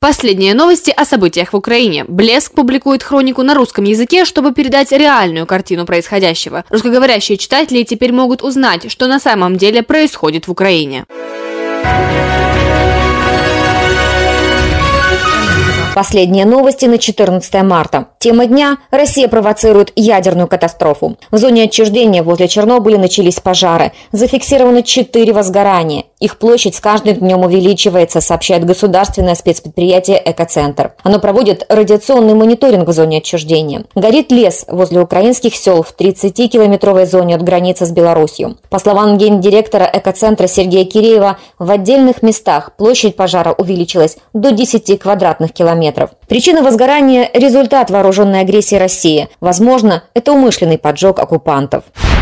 Последние новости о событиях в Украине. Блеск публикует хронику на русском языке, чтобы передать реальную картину происходящего. Русскоговорящие читатели теперь могут узнать, что на самом деле происходит в Украине. Последние новости на 14 марта. Тема дня – Россия провоцирует ядерную катастрофу. В зоне отчуждения возле Чернобыля начались пожары. Зафиксировано 4 возгорания. Их площадь с каждым днем увеличивается, сообщает государственное спецпредприятие «Экоцентр». Оно проводит радиационный мониторинг в зоне отчуждения. Горит лес возле украинских сел в 30-километровой зоне от границы с Беларусью. По словам гендиректора «Экоцентра» Сергея Киреева, в отдельных местах площадь пожара увеличилась до 10 квадратных километров. Причина возгорания – результат вооруженной агрессии России. Возможно, это умышленный поджог оккупантов.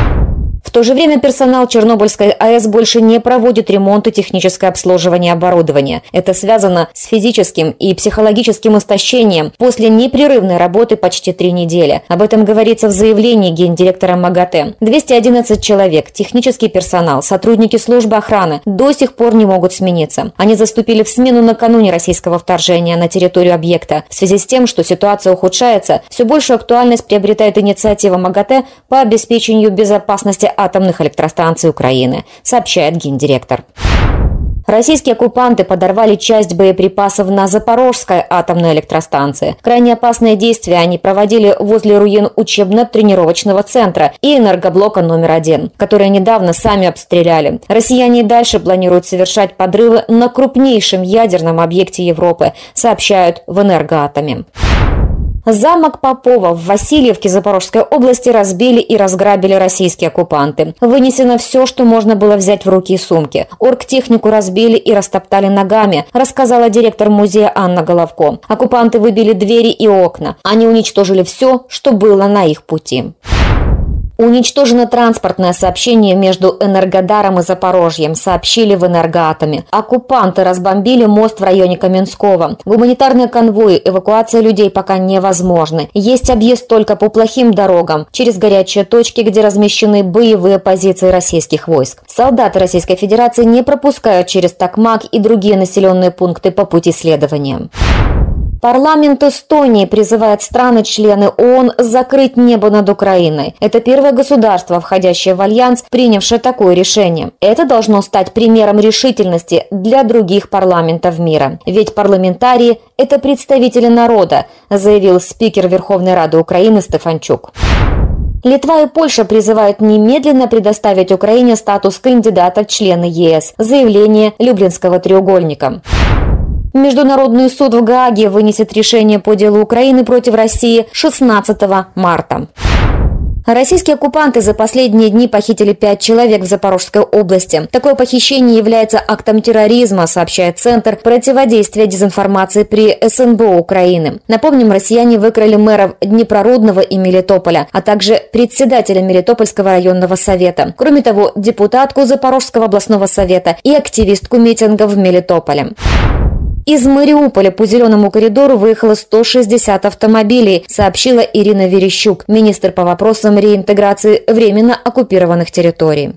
В то же время персонал Чернобыльской АЭС больше не проводит ремонт и техническое обслуживание оборудования. Это связано с физическим и психологическим истощением после непрерывной работы почти 3 недели. Об этом говорится в заявлении гендиректора МАГАТЭ. 211 человек, технический персонал, сотрудники службы охраны до сих пор не могут смениться. Они заступили в смену накануне российского вторжения на территорию объекта. В связи с тем, что ситуация ухудшается, все большую актуальность приобретает инициатива МАГАТЭ по обеспечению безопасности атомных электростанций Украины, сообщает гендиректор. Российские оккупанты подорвали часть боеприпасов на Запорожской атомной электростанции. Крайне опасные действия они проводили возле руин учебно-тренировочного центра и энергоблока номер 1, которые недавно сами обстреляли. Россияне и дальше планируют совершать подрывы на крупнейшем ядерном объекте Европы, сообщают в «Энергоатоме». Замок Попова в Васильевке Запорожской области разбили и разграбили российские оккупанты. Вынесено все, что можно было взять в руки и сумки. Оргтехнику разбили и растоптали ногами, рассказала директор музея Анна Головко. Оккупанты выбили двери и окна. Они уничтожили все, что было на их пути. Уничтожено транспортное сообщение между Энергодаром и Запорожьем, сообщили в «Энергоатоме». Оккупанты разбомбили мост в районе Каменского. Гуманитарные конвои, эвакуация людей пока невозможны. Есть объезд только по плохим дорогам, через горячие точки, где размещены боевые позиции российских войск. Солдаты Российской Федерации не пропускают через Токмак и другие населенные пункты по пути следования. Парламент Эстонии призывает страны-члены ООН закрыть небо над Украиной. Это первое государство, входящее в альянс, принявшее такое решение. Это должно стать примером решительности для других парламентов мира. Ведь парламентарии – это представители народа, заявил спикер Верховной Рады Украины Стефанчук. Литва и Польша призывают немедленно предоставить Украине статус кандидата в члены ЕС. Заявление Люблинского треугольника. Международный суд в Гааге вынесет решение по делу Украины против России 16 марта. Российские оккупанты за последние дни похитили 5 человек в Запорожской области. Такое похищение является актом терроризма, сообщает Центр противодействия дезинформации при СНБО Украины. Напомним, россияне выкрали мэров Днепрорудного и Мелитополя, а также председателя Мелитопольского районного совета. Кроме того, депутатку Запорожского областного совета и активистку митинга в Мелитополе. Из Мариуполя по Зеленому коридору выехало 160 автомобилей, сообщила Ирина Верещук, министр по вопросам реинтеграции временно оккупированных территорий.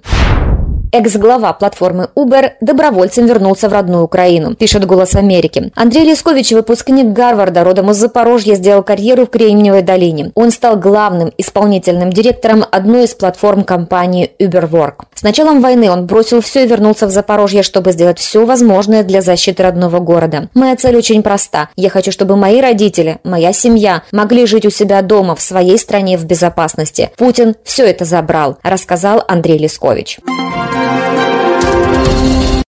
Экс-глава платформы Uber добровольцем вернулся в родную Украину, пишет «Голос Америки». Андрей Лескович, выпускник Гарварда, родом из Запорожья, сделал карьеру в Кремниевой долине. Он стал главным исполнительным директором одной из платформ компании Uberwork. С началом войны он бросил все и вернулся в Запорожье, чтобы сделать все возможное для защиты родного города. «Моя цель очень проста. Я хочу, чтобы мои родители, моя семья могли жить у себя дома, в своей стране в безопасности. Путин все это забрал», рассказал Андрей Лескович.